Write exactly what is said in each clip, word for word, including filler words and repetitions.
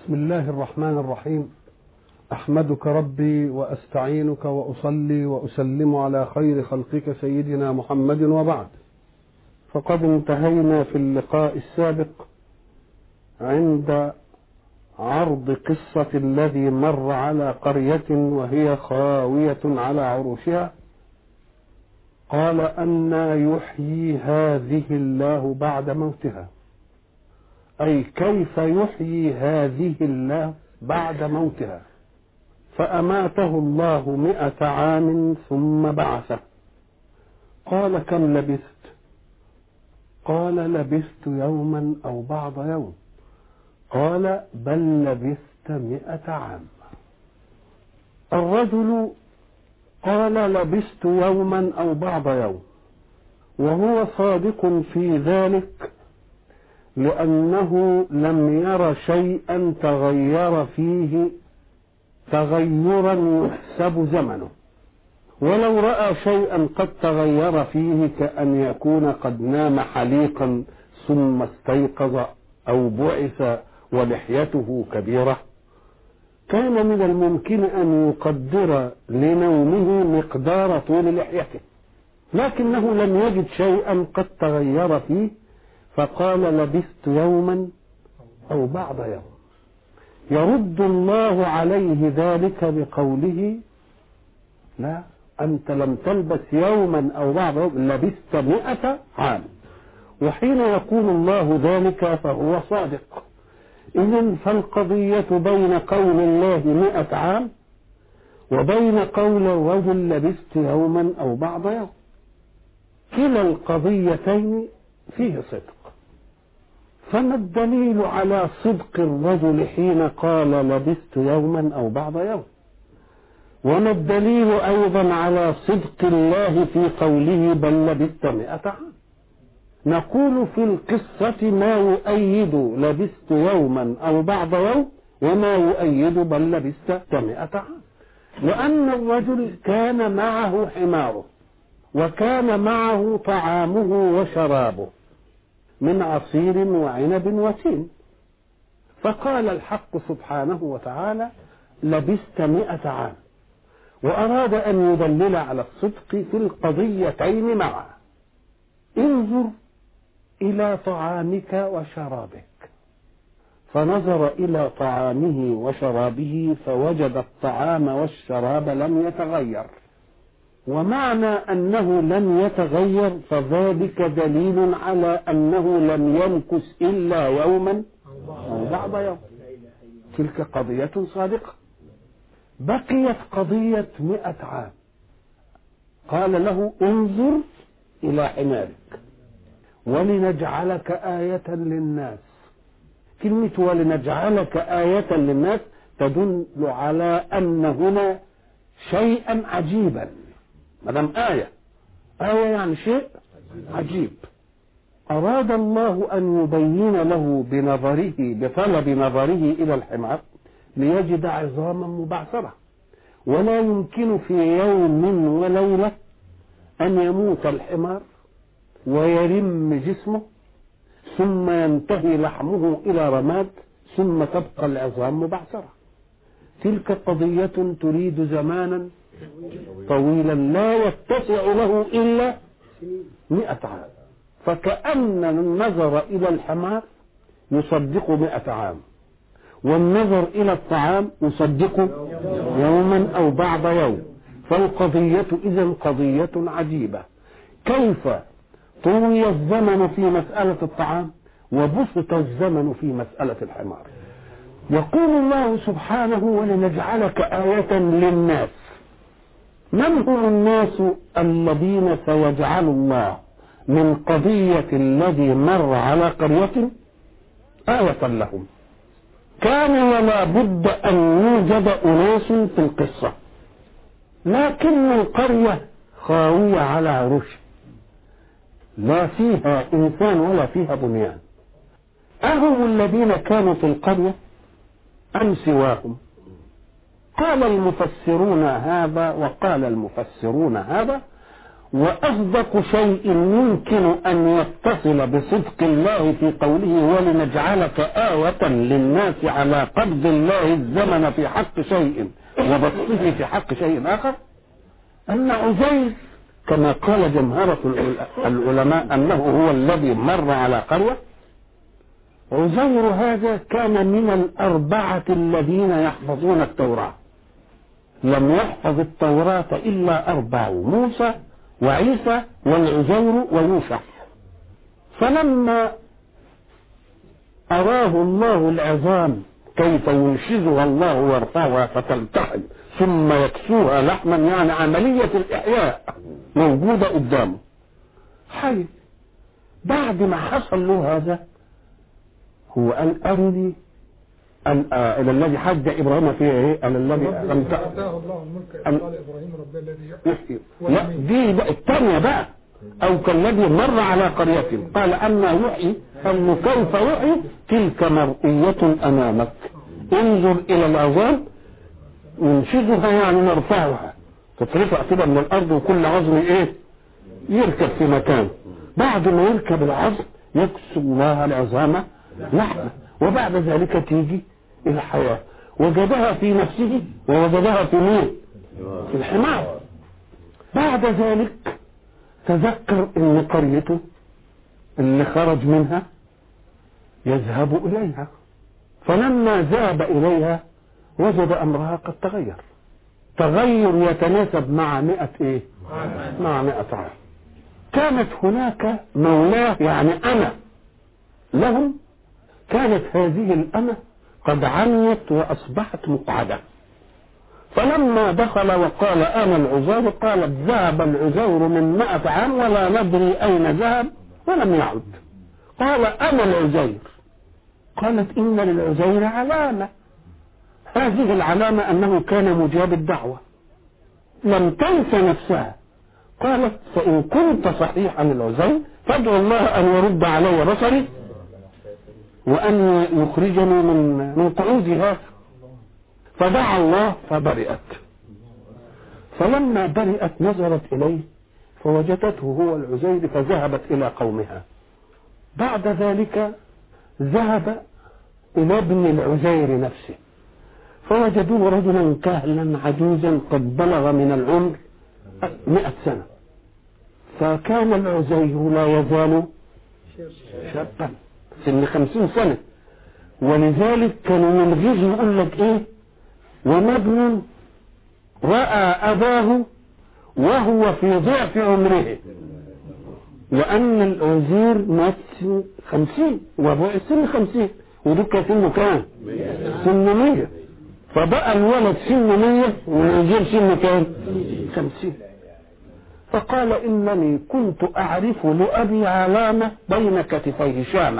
بسم الله الرحمن الرحيم. أحمدك ربي وأستعينك وأصلي وأسلم على خير خلقك سيدنا محمد، وبعد. فقد انتهينا في اللقاء السابق عند عرض قصة الذي مر على قرية وهي خاوية على عروشها، قال أنى يحيي هذه الله بعد موتها، أي كيف يحيي هذه الله بعد موتها. فأماته الله مئة عام ثم بعثه. قال كم لبثت؟ قال لبثت يوما أو بعض يوم. قال بل لبثت مئة عام. الرجل قال لبثت يوما أو بعض يوم، وهو صادق في ذلك، لأنه لم ير شيئا تغير فيه تغيرا يحسب زمنه، ولو رأى شيئا قد تغير فيه كأن يكون قد نام حليقا ثم استيقظ أو بعث ولحيته كبيرة، كان من الممكن أن يقدر لنومه مقدار طول لحيته، لكنه لم يجد شيئا قد تغير فيه، فقال لبثت يوما أو بعض يوم. يرد الله عليه ذلك بقوله لا، أنت لم تلبث يوما أو بعض يوم، لبثت مئة عام. وحين يقول الله ذلك فهو صادق. إذن فالقضية بين قول الله مئة عام وبين قول الرجل لبثت يوما أو بعض يوم، كلا القضيتين فيه صدق. فما الدليل على صدق الرجل حين قال لبثت يوما أو بعض يوم؟ وما الدليل أيضا على صدق الله في قوله بل لبثت مئة عام؟ نقول في القصة ما يؤيد لبثت يوما أو بعض يوم، وما يؤيد بل لبثت مئة عام. لأن الرجل كان معه حماره، وكان معه طعامه وشرابه من عصير وعنب وتين، فقال الحق سبحانه وتعالى لبثت مئة عام، وأراد أن يدلل على الصدق في القضيتين معا. انظر إلى طعامك وشرابك، فنظر إلى طعامه وشرابه فوجد الطعام والشراب لم يتغير، ومعنى أنه لم يتغير فذلك دليل على أنه لم يمكث إلا يوما أو بعض يوم. تلك قضية صادقة. بقيت قضية مئة عام. قال له انظر إلى حمارك ولنجعلك آية للناس. كلمة ولنجعلك آية للناس تدل على أن هنا شيئا عجيبا. مدام آية آية يعني شيء عجيب. أراد الله أن يبين له بنظره بطلب نظره إلى الحمار ليجد عظاما مبعثرة، ولا يمكن في يوم وليلة أن يموت الحمار ويرم جسمه ثم ينتهي لحمه إلى رماد ثم تبقى العظام مبعثرة. تلك قضية تريد زمانا طويلا لا يتسع له إلا مئة عام. فكأن النظر إلى الحمار يصدق مئة عام، والنظر إلى الطعام يصدق يوما أو بعض يوم. فالقضية إذن قضية عجيبة. كيف طوي الزمن في مسألة الطعام وبسط الزمن في مسألة الحمار؟ يقول الله سبحانه ولنجعلك آية للناس. من هم الناس الذين سيجعل الله من قضية الذي مر على قرية آية لهم؟ كان ولا بد أن يوجد أناس في القصة، لكن القرية خاوية على عروش، لا فيها إنسان ولا فيها بنيان. أهم الذين كانوا في القرية أم سواهم؟ قال المفسرون هذا وقال المفسرون هذا، وأصدق شيء يمكن أن يتصل بصدق الله في قوله ولنجعلك آية للناس على قبض الله الزمن في حق شيء وبسطه في حق شيء آخر، أن عزير كما قال جمهرة العلماء أنه هو الذي مر على قرية. عزير هذا كان من الأربعة الذين يحفظون التوراة، لم يحفظ التوراة إلا أربعة: موسى وعيسى والعزير ويوشع. فلما أراه الله العظام كيف ينشزها الله ويرفعها فتلتحم ثم يكسوها لحما، يعني عملية الإحياء موجودة قدامه حي. بعد ما حصل له هذا هو قال أرني إلى الذي حج إبراهيم فيه إيه؟ قال الذي أتاه الله الملك قال إبراهيم رب الذي يحيي. لا دي بقى الثانية بقى، أو كالذي مر على قرية قال أما يحيي، قال كيف يحيي؟ تلك مرئية أمامك، انظر إلى العظام ننشزها يعني نرفعها، تترفع كده من الأرض وكل عظم إيه يركب في مكان. بعد ما يركب العظم يكسو الله العظام لحمة، وبعد ذلك تيجي الحياة. وجدها في نفسه ووجدها في مين؟ في الحمار. بعد ذلك تذكر ان قريته اللي خرج منها يذهب اليها، فلما ذهب اليها وجد امرها قد تغير تغير يتناسب مع مئة ايه؟ مع مئة عام. كانت هناك مولاه يعني أنا لهم، كانت هذه الأمة قد عميت وأصبحت مقعدة. فلما دخل وقال أنا العزير، قالت ذهب العزير من مئة عام ولا ندري أين ذهب ولم يعد. قال أنا العزير، قالت إن للعزير علامة، هذه العلامة أنه كان مجاب الدعوة. لم تنس نفسها، قالت فإن كنت صحيحا العزير فادعو الله أن يرد علي بصري وأن يخرجني من من قعودها. فدعا الله فبرئت. فلما برئت نظرت إليه فوجدته هو العزير فذهبت إلى قومها. بعد ذلك ذهب إلى ابن العزير نفسه فوجدوه رجلا كهلا عجوزا قد بلغ من العمر مئة سنة. فكان العزير لا يزال شابا سن خمسين سنة، ولذلك كانوا من غير يقول لك ايه وما ابن رأى أباه وهو في ضعف عمره، لأن العزير مات سن خمسين وابوه سن خمسين ودك سنه كام؟ سن مية. فبقى الولد سن مية والعزير سن كام؟ خمسين. فقال إنني كنت أعرف لأبي علامة بين كتفيه شامة،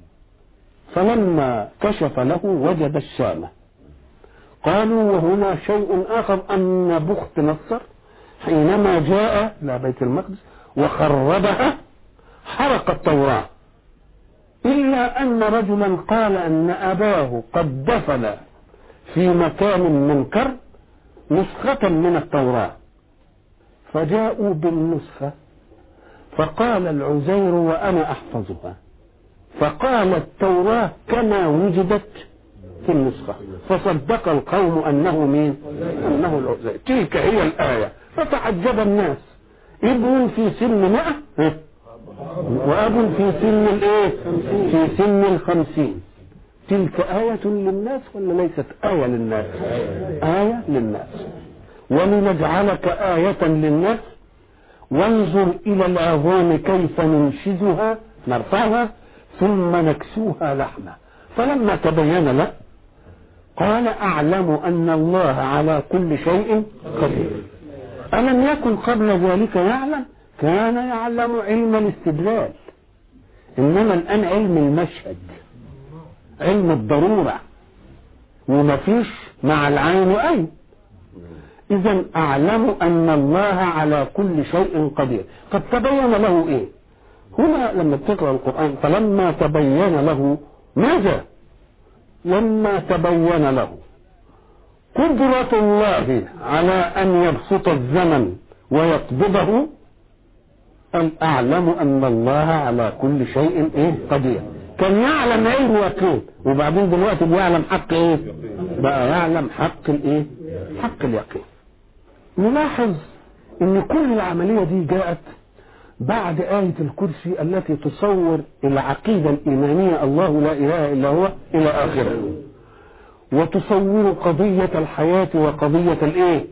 فلما كشف له وجد الشامة. قالوا وهنا شيء آخر أن بخت نصر حينما جاء إلى بيت المقدس وخربها حرق التوراة، إلا أن رجلا قال أن أباه قد دفن في مكان منكر نسخة من التوراة، فجاءوا بالنسخة فقال العزير وأنا أحفظها، فقال التوراة كما وجدت في النسخة، فصدق القوم أنه مين؟ أنه العزير. تلك هي الآية. فتعجب الناس، ابن في سن مئة وأب في سن الايه؟ في سن الخمسين. تلك آية للناس ولا ليست آية للناس؟ آية للناس. ولنجعلك آية للناس وانظر إلى العظام كيف ننشزها نرفعها ثم نكسوها لحمة. فلما تبين له قال أعلم أن الله على كل شيء قدير. ألم يكن قبل ذلك يعلم؟ كان يعلم علم الاستدلال، إنما الآن علم المشهد، علم الضرورة، ومفيش مع العين أين. إذن أعلم أن الله على كل شيء قدير. قد تبين له إيه هنا لما تقرأ القرآن؟ فلما تبين له ماذا؟ لما تبين له قدرة الله على أن يبسط الزمن ويقبضه قال أعلم أن الله على كل شيء إيه قدير. كان يعلم علم يقين، وبعدين دلوقتي بيعلم حق إيه؟ بقى يعلم حق الإيه؟ حق اليقين. نلاحظ إن كل العملية دي جاءت بعد آية الكرسي التي تصور العقيدة الإيمانية الله لا إله إلا هو إلى آخره، وتصور قضية الحياة وقضية الإيه.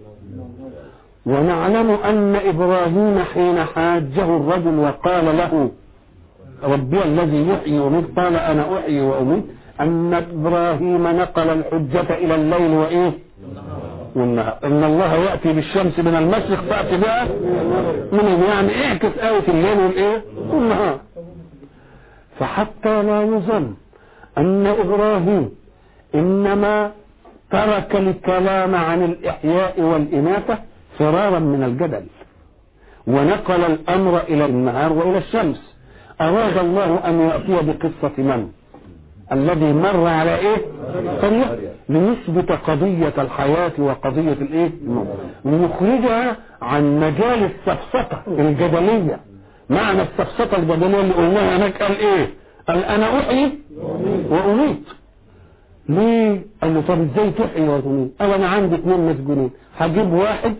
ونعلم أن إبراهيم حين حاجه الرجل وقال له ربي الذي يحيي ويميت قال أنا أحيي وأميت، أن إبراهيم نقل الحجة إلى الليل وإيه والنهار. إن الله يأتي بالشمس من المشرق فأتي بها من يعني اعكس آية الليل والإيه والنهار. فحتى لا يظن أن إبراهيم إنما ترك الكلام عن الإحياء والإماتة فرارا من الجدل، ونقل الأمر إلى النهار وإلى الشمس. أراد الله أن يأتي بقصة من الذي مر على إيه طريق لنثبت قضية الحياة وقضية الإيه ونخرجها عن مجال السفسطة الجدلية. معنى السفسطة الجدلية اللي قلناها هناك قال إيه؟ قال أنا أحيي وأميت. ليه؟ قال له طب ازاي تحيي وتميت؟ قال انا عندي اثنين مسجونين، هجيب واحد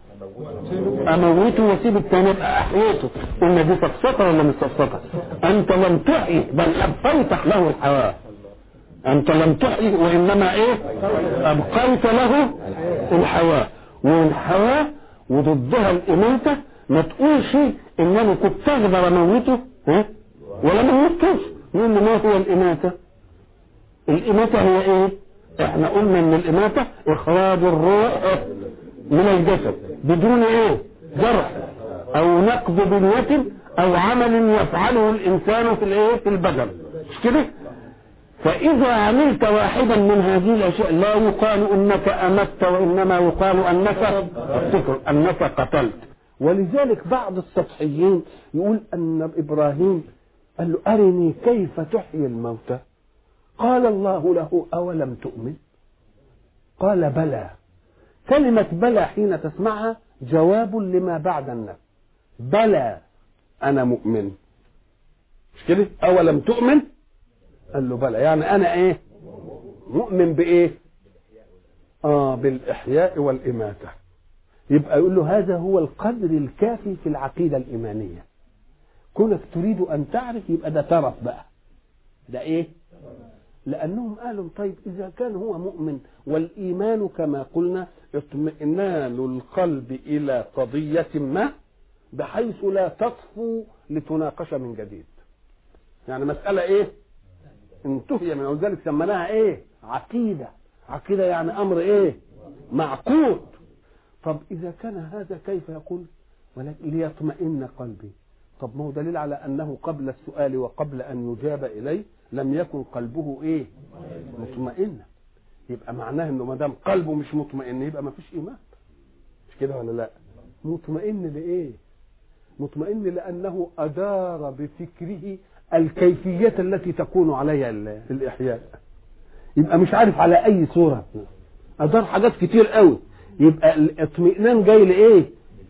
اموته واسيب الثاني ابقى احييته. قلنا دي سفسطه ولا مش سفسطه؟ انت لم تحيي بل ابقيت له الحياه. انت لم تحيي وانما ايه؟ ابقيت له الحياه. والحياه وضدها الاماته. ما تقولش ان انا كنت اقدر اموته ها ولا ما موتوش. نقول ما هو الاماته؟ الإماتة هي إيه؟ إحنا قلنا إن الإماتة إخراج الروح من الجسد بدون إيه؟ جرح أو نقض بنية أو عمل يفعله الإنسان في الإيه؟ في البدن، مش كده؟ فإذا عملت واحدا من هذه الأشياء لا يقال أنك أمت، وإنما يقال أنك أنك قتلت. ولذلك بعض السطحيين يقول أن إبراهيم قال له أرني كيف تحيي الموتى. قال الله له أولم تؤمن؟ قال بلى. كلمة بلى حين تسمعها جواب لما بعد النفي. بلى أنا مؤمن، مش كده؟ أولم تؤمن؟ قال له بلى، يعني أنا إيه؟ مؤمن بإيه؟ آه بالإحياء والإماتة. يبقى يقول له هذا هو القدر الكافي في العقيدة الإيمانية. كونك تريد أن تعرف يبقى ده ترف بقى، ده إيه؟ لأنهم قالوا طيب إذا كان هو مؤمن، والإيمان كما قلنا اطمئنان القلب إلى قضية ما بحيث لا تطفو لتناقش من جديد. يعني مسألة إيه؟ انتهي من ذلك سمناها إيه؟ عقيدة. عقيدة يعني أمر إيه؟ معقود. طب إذا كان هذا كيف يقول ولكن ليطمئن قلبي؟ طب ما هو دليل على أنه قبل السؤال وقبل أن يجاب إليه لم يكن قلبه ايه؟ مطمئن. يبقى معناه انه ما دام قلبه مش مطمئن يبقى ما فيش ايمان، مش كده ولا لا؟ مطمئن لايه؟ مطمئن لانه ادار بفكره الكيفيه التي تكون عليها الاحياء. يبقى مش عارف على اي صوره، ادار حاجات كتير قوي. يبقى الاطمئنان جاي لايه؟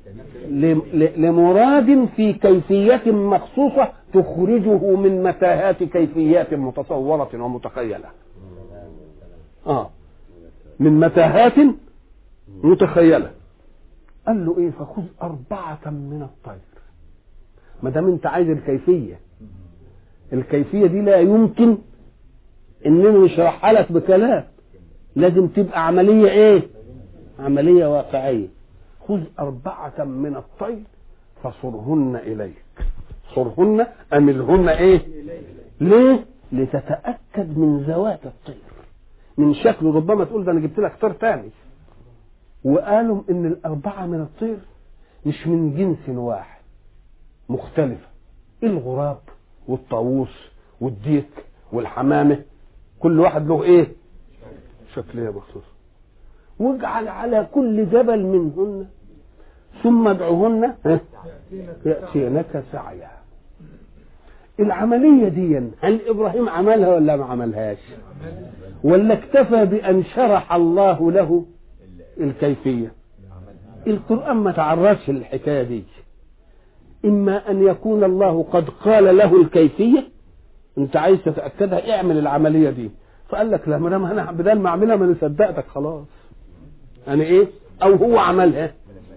لمراد في كيفية مخصوصة تخرجه من متاهات كيفيات متصورة ومتخيلة. آه من متاهات متخيلة. قال له إيه؟ فخذ أربعة من الطير. ما دام أنت عايز الكيفية، الكيفية دي لا يمكن إننا نشرحها لك بكلام، لازم تبقى عملية إيه؟ عملية واقعية. خذ أربعة من الطير فصرهن إليك. صرهن أملهن إيه؟ ليه؟ لتتأكد من ذوات الطير، من شكله. ربما تقول ده أنا جبت لك طير تاني. وقالوا إن الأربعة من الطير مش من جنس واحد، مختلفة. الغراب والطاووس والديك والحمامة كل واحد له إيه؟ شكلية مخصوصة. واجعل على كل جبل منهن ثم ادعوهن يأتينك سعيا. العملية دي هل إبراهيم عملها ولا ما عملهاش؟ ولا اكتفى بأن شرح الله له الكيفية؟ القرآن ما تعرضش للحكاية دي. إما أن يكون الله قد قال له الكيفية، أنت عايز تتأكدها اعمل العملية دي، فقال لك لا، ما أنا بدل ما أعملها ما أنا صدقتك خلاص أنا إيه، أو هو عملها،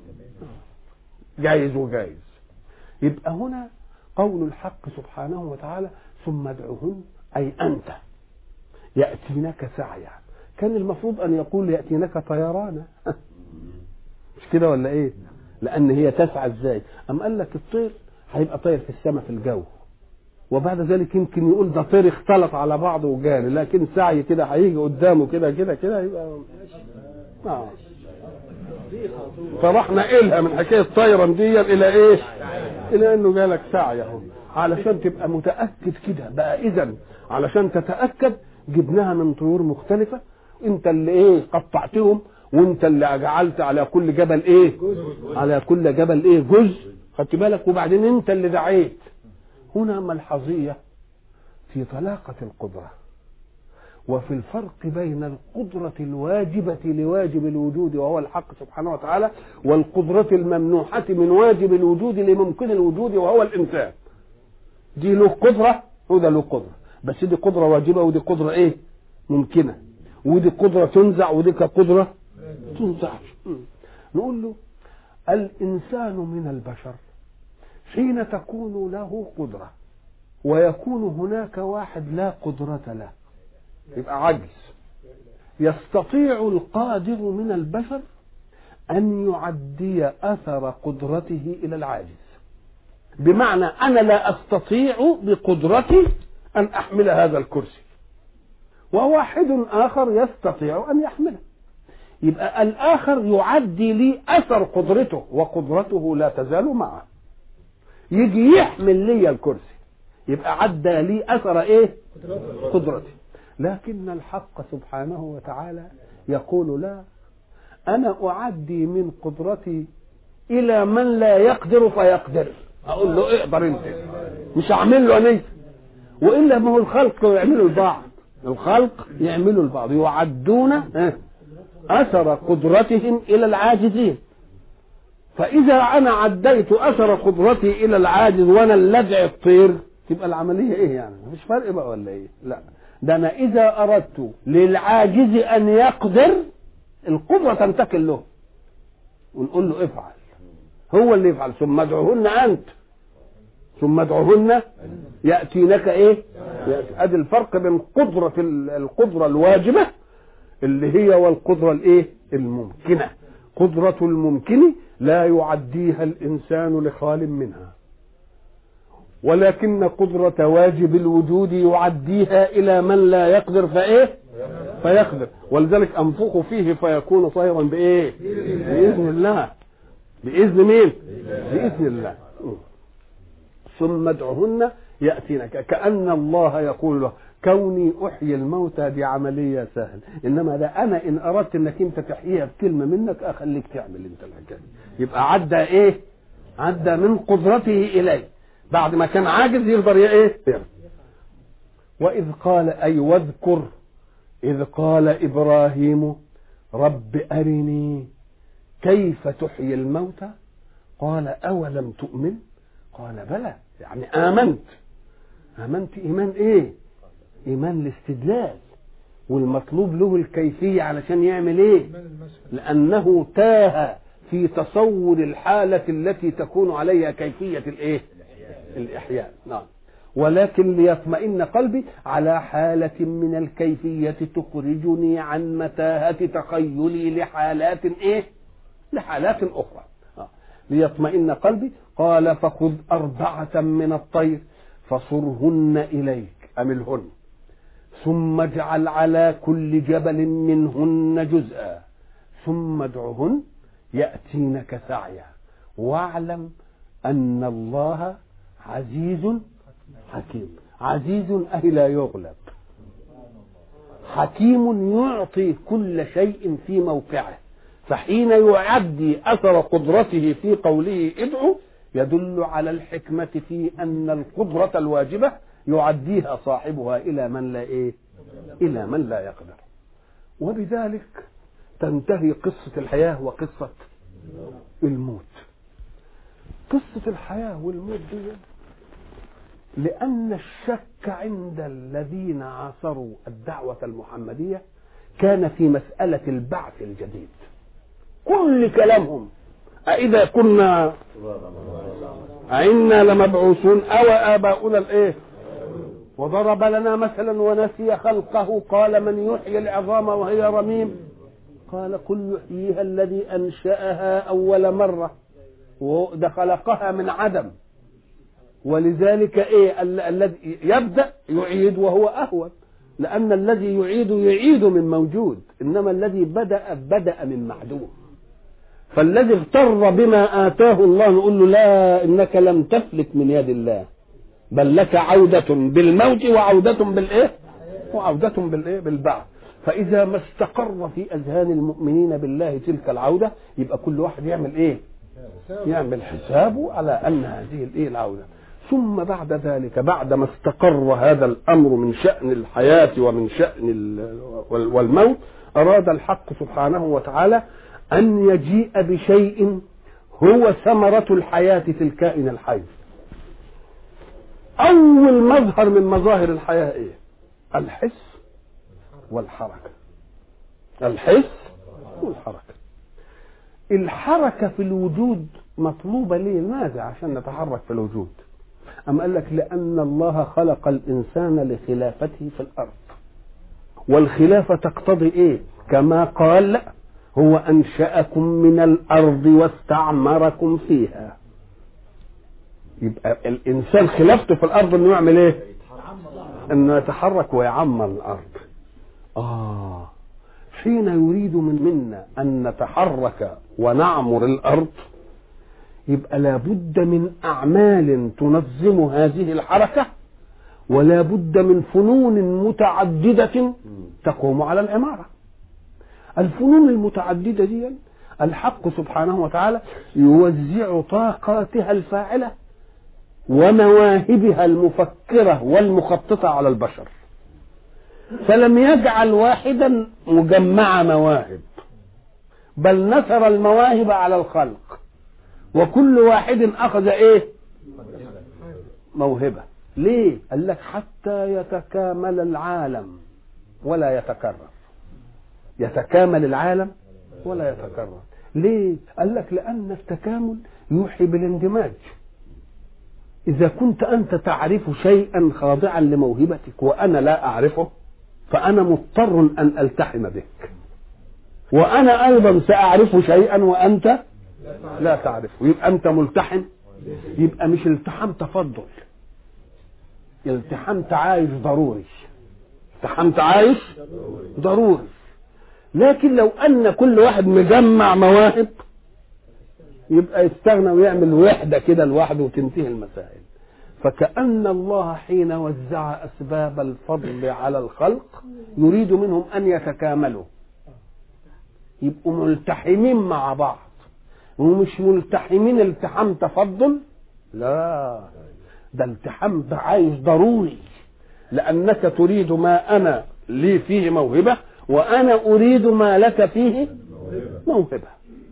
جايز وجايز. يبقى هنا قول الحق سبحانه وتعالى ثم ادعوهن أي أنت يأتينك سعيا، كان المفروض أن يقول يأتينك طيرانا مش كده ولا إيه؟ لأن هي تسعى إزاي؟ أم قال لك الطير هيبقى طير في السماء في الجو، وبعد ذلك يمكن يقول ده طير اختلط على بعضه وجاري، لكن سعي كده هيجي قدامه كده كده كده يبقى آه. فراح نقلها من حكايه طيرا دي الى ايه؟ الى انه جالك سعي اهو، علشان تبقى متاكد كده بقى. اذا علشان تتاكد جبناها من طيور مختلفه، انت اللي ايه قطعتهم، وانت اللي جعلت على كل جبل ايه؟ على كل جبل ايه؟ جزء، خدت بالك؟ وبعدين انت اللي دعيت. هنا ملحظيه في طلاقه القدره وفي الفرق بين القدرة الواجبة لواجب الوجود وهو الحق سبحانه وتعالى، والقدرة الممنوحة من واجب الوجود لممكن الوجود وهو الإنسان. دي له قدرة وده له قدرة، بس دي قدرة واجبة ودي قدرة ايه؟ ممكنة، ودي قدرة تنزع ودي كقدرة تنزع. نقول له الإنسان من البشر حين تكون له قدرة ويكون هناك واحد لا قدرة له يبقى عجز. يستطيع القادر من البشر أن يعدي أثر قدرته إلى العاجز، بمعنى أنا لا أستطيع بقدرتي أن أحمل هذا الكرسي، وواحد آخر يستطيع أن يحمله، يبقى الآخر يعدي لي أثر قدرته وقدرته لا تزال معه، يجي يحمل لي الكرسي، يبقى عدى لي أثر إيه؟ قدرتي. لكن الحق سبحانه وتعالى يقول لا، أنا أعدي من قدرتي إلى من لا يقدر فيقدر، أقول له اقدر أنت، مش أعمل له أنا، وإلا ما هو الخلق يعملوا البعض، الخلق يعملوا البعض، يعدون أثر قدرتهم إلى العاجزين. فإذا أنا عديت أثر قدرتي إلى العاجز وأنا اللدع الطير، تبقى العملية إيه يعني؟ مفيش فرق بقى ولا إيه؟ لا، ده أنا إذا أردت للعاجز أن يقدر القدرة تنتقل له ونقول له افعل، هو اللي يفعل. ثم ادعوهن أنت ثم ادعوهن يأتينك إيه؟ أدي الفرق بين قدرة القدرة الواجبة اللي هي والقدرة الإيه؟ الممكنة. قدرة الممكن لا يعديها الإنسان لخال منها، ولكن قدرة واجب الوجود يعديها إلى من لا يقدر فإيه؟ فيقدر. ولذلك أنفخ فيه فيكون طيرا بإيه؟ بإذن الله. بإذن مين؟ بإذن الله. ثم ادعهن يأتينك، كأن الله يقول له كوني أحيي الموتى دي عملية سهل، إنما ده أنا إن أردت إنك أنت تحييها بكلمة منك أخليك تعمل أنت الحكاية. يبقى عدى إيه؟ عدى من قدرته إليه، بعد ما كان عاجز يقدر ايه؟ وإذ قال أي واذكر إذ قال إبراهيم رب أرني كيف تحيي الموتى قال أولم تؤمن قال بلى، يعني آمنت. آمنت إيمان إيه؟ إيمان الاستدلال، والمطلوب له الكيفية علشان يعمل إيه؟ لأنه تاه في تصور الحالة التي تكون عليها كيفية الإيه؟ الإحياء. نعم. ولكن ليطمئن قلبي على حالة من الكيفية تخرجني عن متاهة تخيلي لحالات إيه؟ لحالات أخرى. آه. ليطمئن قلبي. قال فخذ أربعة من الطير فصرهن إليك أملهن ثم اجعل على كل جبل منهن جزءا ثم ادعهن يأتينك سعيا واعلم أن الله عزيز حكيم. عزيز أي لا يغلب، حكيم يعطي كل شيء في موقعه. فحين يعدي أثر قدرته في قوله ادعو يدل على الحكمة في أن القدرة الواجبة يعديها صاحبها إلى من لا إيه؟ إلى من لا يقدر. وبذلك تنتهي قصة الحياة وقصة الموت. قصة الحياة والموت دي لأن الشك عند الذين عاصروا الدعوة المحمدية كان في مسألة البعث الجديد. كل كلامهم أإذا كنا أئنا لمبعوثون أو آباؤنا الإيه، وضرب لنا مثلا ونسي خلقه قال من يحيي العظام وهي رميم قال قل يحييها الذي أنشأها أول مرة وده خلقها من عدم. ولذلك ايه الذي يبدأ يعيد وهو أهون، لأن الذي يعيد يعيد من موجود، إنما الذي بدأ بدأ من معدوم. فالذي اغتر بما آتاه الله نقول له لا، إنك لم تفلت من يد الله، بل لك عودة بالموت وعودة بالإيه وعودة بالإيه بالبعث. فإذا ما استقر في أذهان المؤمنين بالله تلك العودة يبقى كل واحد يعمل إيه يعمل حسابه على أن هذه الإيه العودة. ثم بعد ذلك بعد ما استقر هذا الأمر من شأن الحياة ومن شأن والموت أراد الحق سبحانه وتعالى أن يجيء بشيء هو ثمرة الحياة في الكائن الحي. أول مظهر من مظاهر الحياة إيه؟ الحس والحركة. الحس والحركة. الحركة في الوجود مطلوبة ليه؟ لماذا؟ عشان نتحرك في الوجود. أم قال لك لأن الله خلق الإنسان لخلافته في الأرض، والخلافة تقتضي إيه؟ كما قال هو أنشأكم من الأرض واستعمركم فيها. يبقى الإنسان خلافته في الأرض إنه يعمل إيه؟ إنه يتحرك ويعمر الأرض. آه حين يريد من منا أن نتحرك ونعمر الأرض يبقى لابد من أعمال تنظم هذه الحركة، ولا بد من فنون متعددة تقوم على العمارة. الفنون المتعددة دي الحق سبحانه وتعالى يوزع طاقاتها الفاعلة ومواهبها المفكرة والمخططة على البشر، فلم يجعل واحدا مجمع مواهب، بل نثر المواهب على الخلق، وكل واحد أخذ إيه موهبة. ليه؟ قال لك حتى يتكامل العالم ولا يتكرر. يتكامل العالم ولا يتكرر. ليه؟ قال لك لأن التكامل يوحي بالاندماج. إذا كنت أنت تعرف شيئا خاضعا لموهبتك وأنا لا أعرفه فأنا مضطر أن ألتحم بك، وأنا أيضا سأعرف شيئا وأنت لا تعرفه، يبقى أنت ملتحم. يبقى مش التحام تفضل، التحام تعايش ضروري. التحام تعايش ضروري. لكن لو أن كل واحد مجمع مواهب يبقى يستغنى ويعمل وحدة كده لوحده وتنتهي المسائل. فكأن الله حين وزع أسباب الفضل على الخلق يريد منهم أن يتكاملوا، يبقوا ملتحمين مع بعض، ومش ملتحمين التحام تفضل، لا، ده التحام تعايش ضروري، لأنك تريد ما أنا لي فيه موهبة وأنا أريد ما لك فيه موهبة.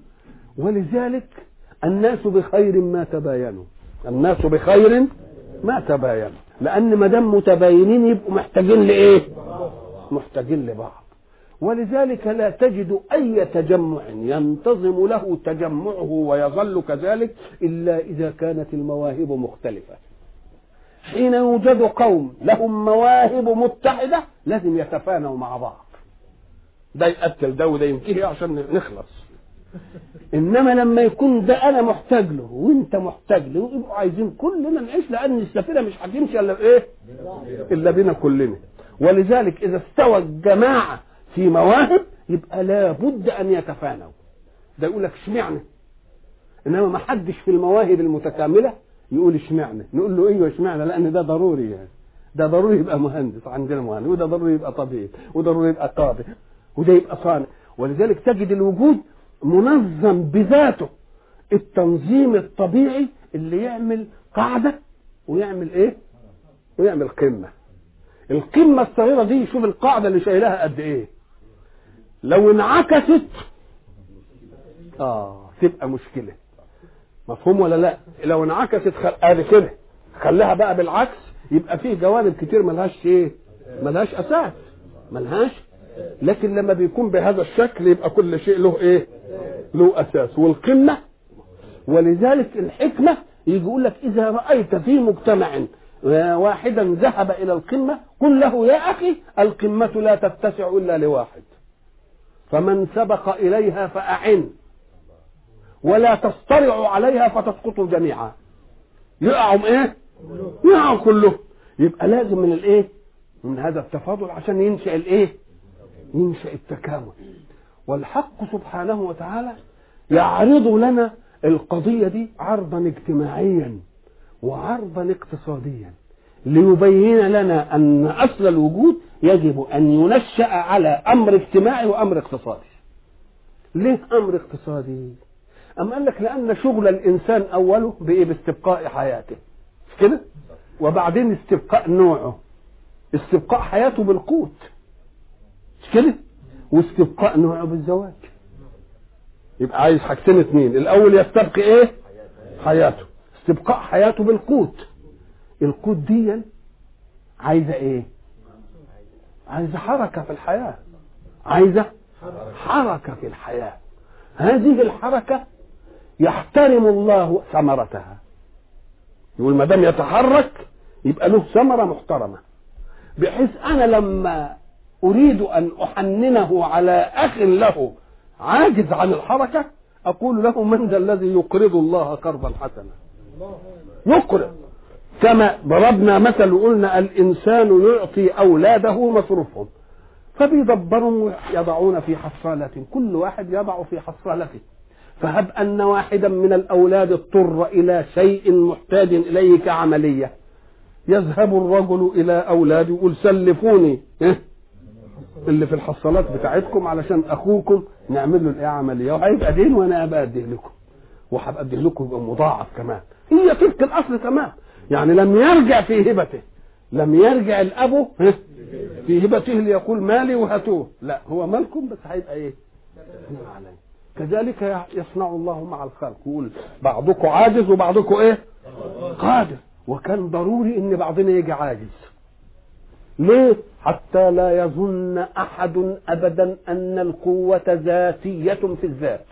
ولذلك الناس بخير ما تباينوا. الناس بخير ما تباينوا، لأن ما دام متباينين يبقوا محتاجين لإيه؟ محتاجين لبعض. ولذلك لا تجد أي تجمع ينتظم له تجمعه ويظل كذلك إلا إذا كانت المواهب مختلفة. حين يوجد قوم لهم مواهب متحدة لازم يتفانوا مع بعض، ده يقتل ده وده ينتهي عشان نخلص. إنما لما يكون ده أنا محتاج له وأنت محتاج له يبقوا عايزين كلنا نعيش، لأن السفينة مش هتمشي إلا بإيه؟ إلا بينا كلنا. ولذلك إذا استوى الجماعة في مواهب يبقى لا بد أن يتفانوا. ده يقول لك اشمعنى، إنما ما حدش في المواهب المتكاملة يقول اشمعنى. نقول له ايوه اشمعنى، لأن ده ضروري، يعني ده ضروري يبقى مهندس، عندنا مهندس، وده ضروري يبقى طبيب، وده ضروري يبقى قاضي، وده يبقى صانع. ولذلك تجد الوجود منظم بذاته، التنظيم الطبيعي اللي يعمل قاعدة ويعمل ايه ويعمل قمة. القمة الصغيرة دي شوف القاعدة اللي شايلها قد ايه، لو انعكست اه تبقى مشكلة. مفهوم ولا لا؟ لو انعكست خل... ادي كده خليها بقى بالعكس، يبقى فيه جوانب كتير ملهاش ايه؟ ملهاش اساس، ملهاش. لكن لما بيكون بهذا الشكل يبقى كل شيء له ايه؟ له اساس والقمه. ولذلك الحكمه يجي يقول لك اذا رايت في مجتمع واحدا ذهب الى القمه قل له يا اخي القمه لا تتسع الا لواحد، فمن سبق اليها فاعن ولا تصطرعوا عليها فتسقطوا جميعا. يقعوا ايه؟ يقعوا كله. يبقى لازم من الايه؟ من هذا التفاضل عشان ينشأ الايه؟ ينشأ التكامل. والحق سبحانه وتعالى يعرض لنا القضية دي عرضا اجتماعيا وعرضا اقتصاديا ليبين لنا ان اصل الوجود يجب ان ينشأ على امر اجتماعي وامر اقتصادي. ليه امر اقتصادي؟ أم قال لك لأن شغل الإنسان أوله بإيه؟ باستبقاء حياته، مش كده؟ وبعدين استبقاء نوعه، استبقاء حياته بالقوت، مش كده؟ واستبقاء نوعه بالزواج. يبقى عايز حاجتين اتنين، الأول يستبقي إيه؟ حياته، استبقاء حياته بالقوت. القوت دي عايزة إيه؟ عايزة حركة في الحياة، عايزة حركة في الحياة. هذه الحركة يحترم الله ثمرتها، يقول ما دام يتحرك يبقى له ثمرة محترمة، بحيث أنا لما أريد أن أحننه على أخ له عاجز عن الحركة أقول له من ذا الذي يقرض الله قرضا حسنا؟ يقرض. كما ضربنا مثل وقلنا الإنسان يعطي أولاده مصروفهم فبيدبروا يضعون في حصالة، كل واحد يضع في حصالته. فهب أن واحدا من الأولاد اضطر إلى شيء محتاج إليه كعملية، يذهب الرجل إلى أولاده يقول سلفوني إيه؟ اللي في الحصالات بتاعتكم علشان أخوكم نعمل له الإيه عملية، وهيبقى دين وأنا أبقى أديه لكم وهبقى أديه لكم يبقى مضاعف كمان. هي تلك الأصل تمام، يعني لم يرجع في هبته، لم يرجع الأب في هبته ليقول مالي وهاتوه، لا هو مالكم بس هيبقى ايه؟ عليه. كذلك يصنع الله مع الخلق، يقول بعضكم عاجز وبعضكم ايه؟ قادر. وكان ضروري ان بعضنا يجي عاجز. ليه؟ حتى لا يظن احد ابدا ان القوة ذاتية في الذات.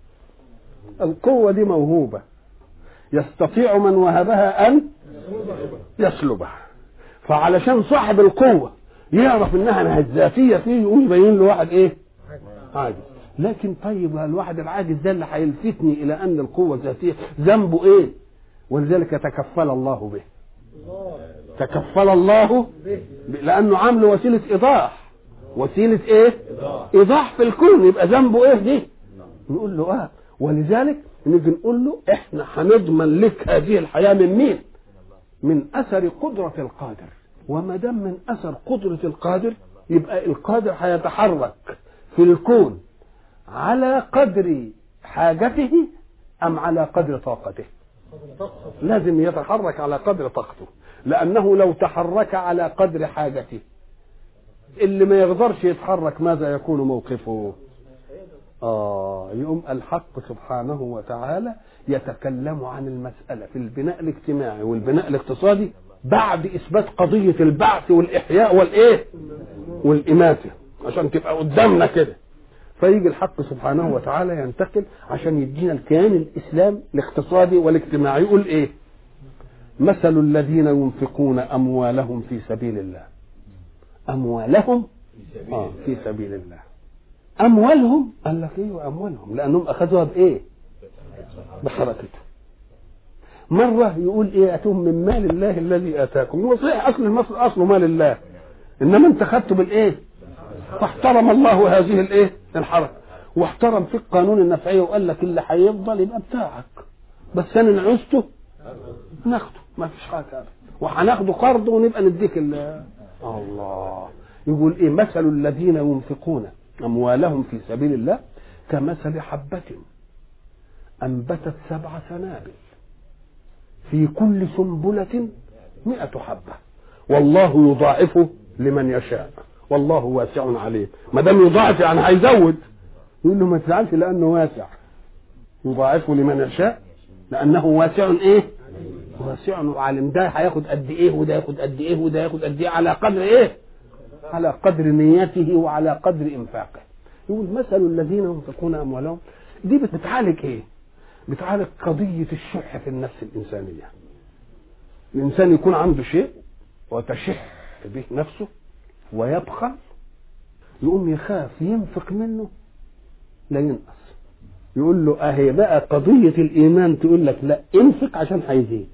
القوة دي موهوبة، يستطيع من وهبها ان يسلبها. فعلشان صاحب القوة يعرف انها ذاتية فيه يقوم يبين له واحد ايه؟ عاجز. لكن طيب الواحد العاجز ده اللي هيلفتني الى ان القوة ذاتية ذنبه ايه؟ ولذلك تكفل الله به، تكفل الله لانه عامل وسيلة ايضاح، وسيلة ايه؟ ايضاح في الكون. يبقى ذنبه ايه دي؟ نقول له اه. ولذلك نيجي نقول له احنا هنضمن لك هذه الحياة من مين؟ من اثر قدرة القادر. وما دام من اثر قدرة القادر يبقى القادر هيتحرك في الكون على قدر حاجته ام على قدر طاقته؟ لازم يتحرك على قدر طاقته، لانه لو تحرك على قدر حاجته اللي ما يقدرش يتحرك ماذا يكون موقفه؟ آه يقوم الحق سبحانه وتعالى يتكلم عن المسألة في البناء الاجتماعي والبناء الاقتصادي بعد إثبات قضية البعث والإحياء والإيه والإماتة، عشان تبقى قدامنا كده. فيجي الحق سبحانه وتعالى ينتقل عشان يدينا الكيان الإسلام الاقتصادي والاجتماعي. يقول إيه؟ مثل الذين ينفقون أموالهم في سبيل الله. أموالهم آه في سبيل الله. أموالهم قال لك إيه؟ وأموالهم لأنهم أخذوها بإيه؟ بحركته. مرة يقول إيه؟ أتوم من مال الله الذي آتاكم. هو صحيح أصل المصل أصله مال الله، إنما أنت خدته بالإيه؟ فاحترم الله هذه الإيه؟ الحركة، واحترم في القانون النفعية وقال لك اللي هيفضل يبقى بتاعك، بس أنا نعوزته ناخده ما فيش حاجة، وهناخده قرض ونبقى نديك الله. يقول إيه؟ مثل الذين ينفقون أموالهم في سبيل الله كمثل حبة أنبتت سبع سنابل في كل سنبلة مئة حبة والله يضاعف لمن يشاء والله واسع عليم. ما دام يضاعف يعني هيزود، يقول له ما تزعلش لأنه واسع، يضاعف لمن يشاء لأنه واسع إيه؟ واسع وعالم. ده هياخد قد إيه وده ياخد قد إيه وده ياخد قد إيه على قدر إيه؟ على قدر نيته وعلى قدر إنفاقه. يقول مثل الذين ينفقون أموالهم، دي بتعالج إيه؟ بتعالج قضية الشح في النفس الإنسانية. الإنسان يكون عنده شيء وتشح به نفسه ويبخل، يقوم يخاف ينفق منه لا ينقص. يقول له اهي بقى قضية الإيمان تقول لك لا، انفق عشان هيزيد،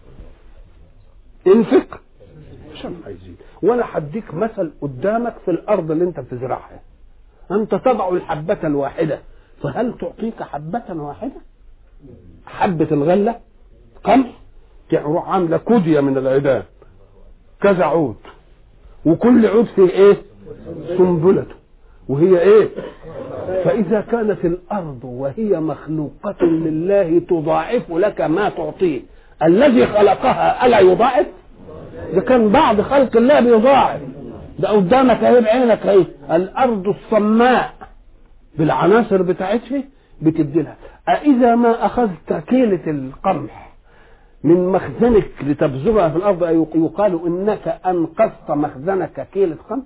انفق عشان هيزيد. وانا هديك مثل قدامك في الأرض اللي انت بتزرعها، انت تضع الحبة الواحدة فهل تعطيك حبة واحدة؟ حبة الغلة قمح تروح عاملة كودية من العيدان كذا عود، وكل عود فيه ايه؟ سنبلته، وهي ايه؟ فإذا كانت الأرض وهي مخلوقة لله تضاعف لك ما تعطيه، الذي خلقها ألا يضاعف؟ ده كان بعض خلق الله بيضاعف، ده قدامك اهي بعينك اهي. الأرض الصماء بالعناصر بتاعتها بتديلها. أإذا ما أخذت كيلة القمح من مخزنك لتبذرها في الأرض يقال إنك أنقذت مخزنك كيلة قمح؟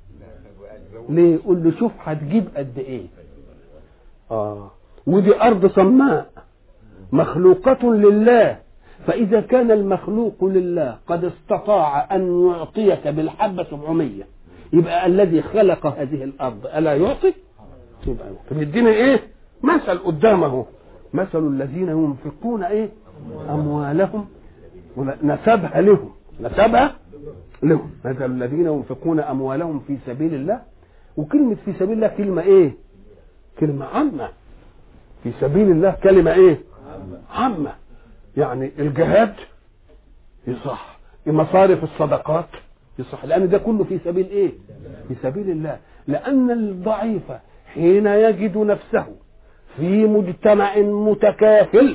ليه؟ يقول له شوف هتجيب قد إيه. آه ودي أرض صماء مخلوقة لله، فإذا كان المخلوق لله قد استطاع أن يعطيك بالحبة سبعمية، يبقى الذي خلق هذه الأرض ألا يعطي؟ يبقى يدينا إيه؟ مثل قدامه، مثل الذين ينفقون إيه؟ أموالهم، نسبها لهم، نسبها لهم. مثل الذين ينفقون أموالهم في سبيل الله. وكلمة في سبيل الله كلمة إيه؟ كلمة عامة. في سبيل الله كلمة إيه؟ عامة. يعني الجهاد يصح، مصارف الصدقات يصح، لأن ده كله في سبيل إيه؟ في سبيل الله. لأن الضعيف حين يجد نفسه في مجتمع متكافل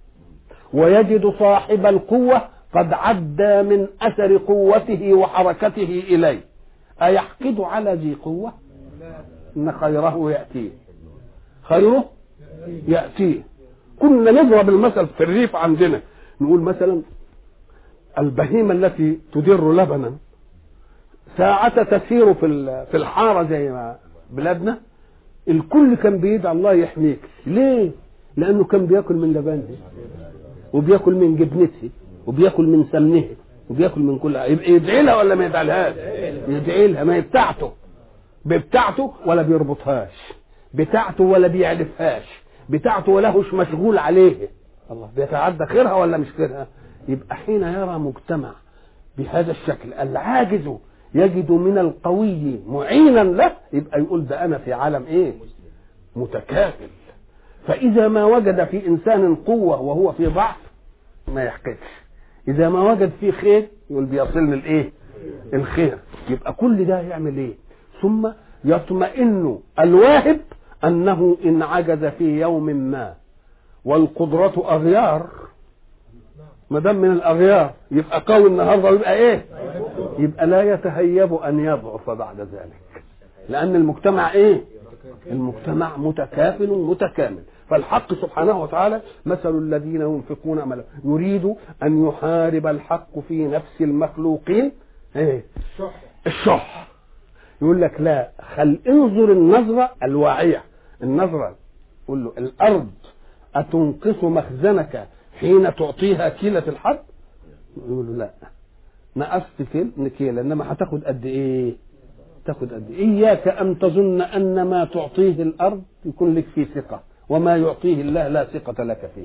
ويجد صاحب القوة قد عدى من أثر قوته وحركته إليه، أيحقد على ذي قوة؟ إن خيره يأتيه، خيره يأتيه. كنا نضرب المثل في الريف عندنا، نقول مثلا البهيمة التي تدر لبنا ساعة تسير في في الحارة زي ما بلادنا، الكل كان بيدعي الله يحميك. ليه؟ لأنه كان بياكل من لبنه وبياكل من جبنته وبياكل من سمنه وبياكل من كل، يبقى يدعي لها ولا ما يدعيلهاش؟ يدعي لها. ما هي بتاعته، بتاعته ولا بيربطهاش، بتاعته ولا بيعرفهاش، بتاعته ولا هوش مشغول عليه. الله بيتعدى خيرها ولا مش خيرها؟ يبقى حين يرى مجتمع بهذا الشكل العاجز يجد من القوي معينا له، يبقى يقول ده أنا في عالم إيه؟ متكافل. فإذا ما وجد في إنسان قوة وهو في ضعف ما يحقدش، إذا ما وجد فيه خير يقول بيصلني الإيه؟ الخير. يبقى كل ده يعمل إيه؟ ثم يطمئن الواهب أنه إن عجز في يوم ما والقدرة أغيار، ما دام من الأغيار يبقى قوي النهارده يبقى إيه؟ يبقى لا يتهيب أن يضعف بعد ذلك، لأن المجتمع إيه؟ المجتمع متكافل متكامل. فالحق سبحانه وتعالى مثل الذين ينفقون أموالهم يريد أن يحارب الحق في نفس المخلوقين إيه؟ الشح. يقول لك لا، خل انظر النظرة الواعية، النظرة يقول له الأرض أتنقص مخزنك حين تعطيها كيلة الحب؟ يقول له لا، نقصت كيل كيلة، إنما هتاخد قد إيه؟ تاخد قد إيه؟ إياك أن تظن أن ما تعطيه الأرض يكون لك فيه ثقة، وما يعطيه الله لا ثقة لك فيه.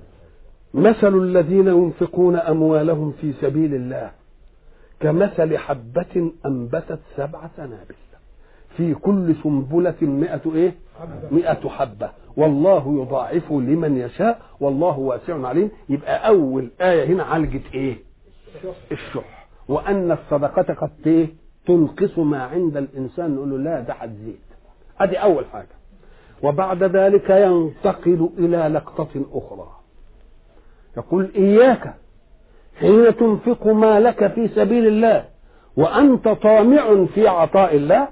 مثل الذين ينفقون أموالهم في سبيل الله كمثل حبة أنبتت سبع سنابل في كل سنبلة مئة إيه؟ مئة حبة والله يضاعف لمن يشاء والله واسع عليم. يبقى أول آية هنا عالجت إيه؟ الشح، وأن الصدقة قد إيه؟ تنقص ما عند الإنسان. نقول له لا، ده هتزيد. أدي أول حاجة. وبعد ذلك ينتقل إلى لقطة أخرى، يقول إياك حين تنفق مالك في سبيل الله وأنت طامع في عطاء الله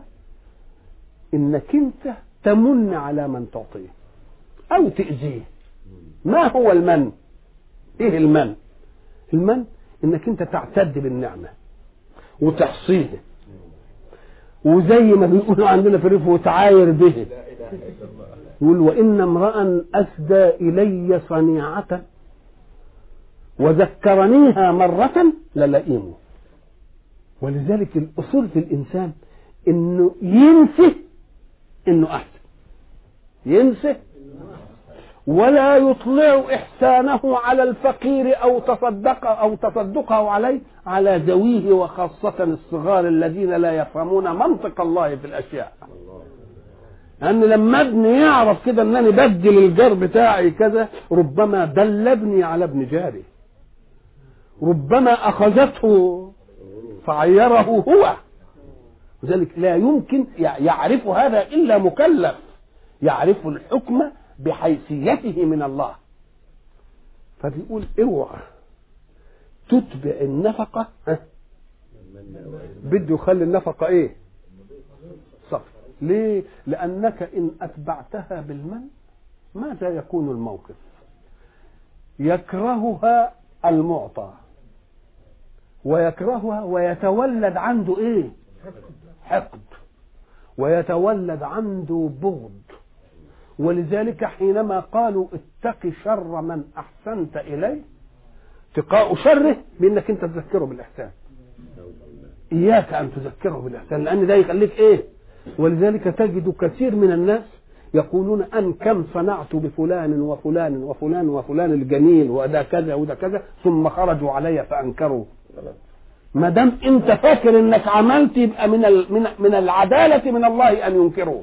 إنك أنت تمن على من تعطيه أو تأذيه. ما هو المن؟ ايه المن؟ المن انك انت تعتد بالنعمه وتحصيها، وزي ما بيقولوا عندنا في الريف وتعاير به. يقول وان امرا اسدى الي صنيعه وذكرنيها مره للئيم. ولذلك الاصول في الانسان انه ينسى انه احسن، ينسى ولا يطلع إحسانه على الفقير أو تصدق أو تصدقه عليه على ذويه، وخاصة الصغار الذين لا يفهمون منطق الله في الأشياء. لأن يعني لما ابني يعرف كده أنني بدل الجار بتاعي كذا، ربما دل ابني على ابن جاري، ربما أخذته فعيره هو. لذلك لا يمكن يعرف هذا إلا مكلف يعرف الحكم بحيثيته من الله. فبيقول اوعى تتبع النفقة، بده يخلي النفقة ايه؟ صفر. ليه؟ لأنك إن أتبعتها بالمن ماذا يكون الموقف؟ يكرهها المعطى ويكرهها ويتولد عنده ايه؟ حقد، ويتولد عنده بغض. ولذلك حينما قالوا اتق شر من احسنت اليه، اتقاء شره بانك انت تذكره بالاحسان. اياك ان تذكره بالاحسان، لان ده يخليك ايه؟ ولذلك تجد كثير من الناس يقولون ان كم صنعت بفلان وفلان وفلان وفلان الجميل وده كذا وده كذا، ثم خرجوا علي فانكروا. ما دام انت فاكر انك عملت، يبقى من من من العداله من الله ان ينكروه.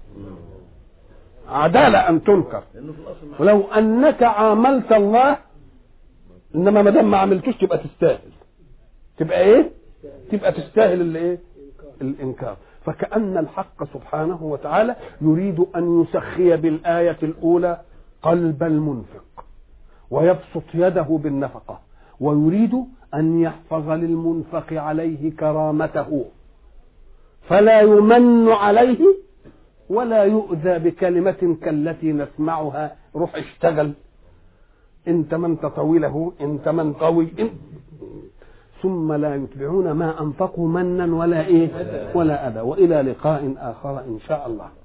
عدالة أن تنكر. ولو أنك عاملت الله، إنما ما دام ما عملتوش تبقى تستاهل. تبقى إيه؟ تبقى تستاهل الإيه؟ الإنكار. فكأن الحق سبحانه وتعالى يريد أن يسخي بالآية الأولى قلب المنفق ويبسط يده بالنفقة، ويريد أن يحفظ للمنفق عليه كرامته، فلا يمن عليه ولا يؤذى بكلمة كالتي نسمعها روح اشتغل، انت من طويله، انت من قوي، انت. ثم لا يتبعون ما أنفقوا منا ولا إيه ولا أذى. وإلى لقاء آخر إن شاء الله.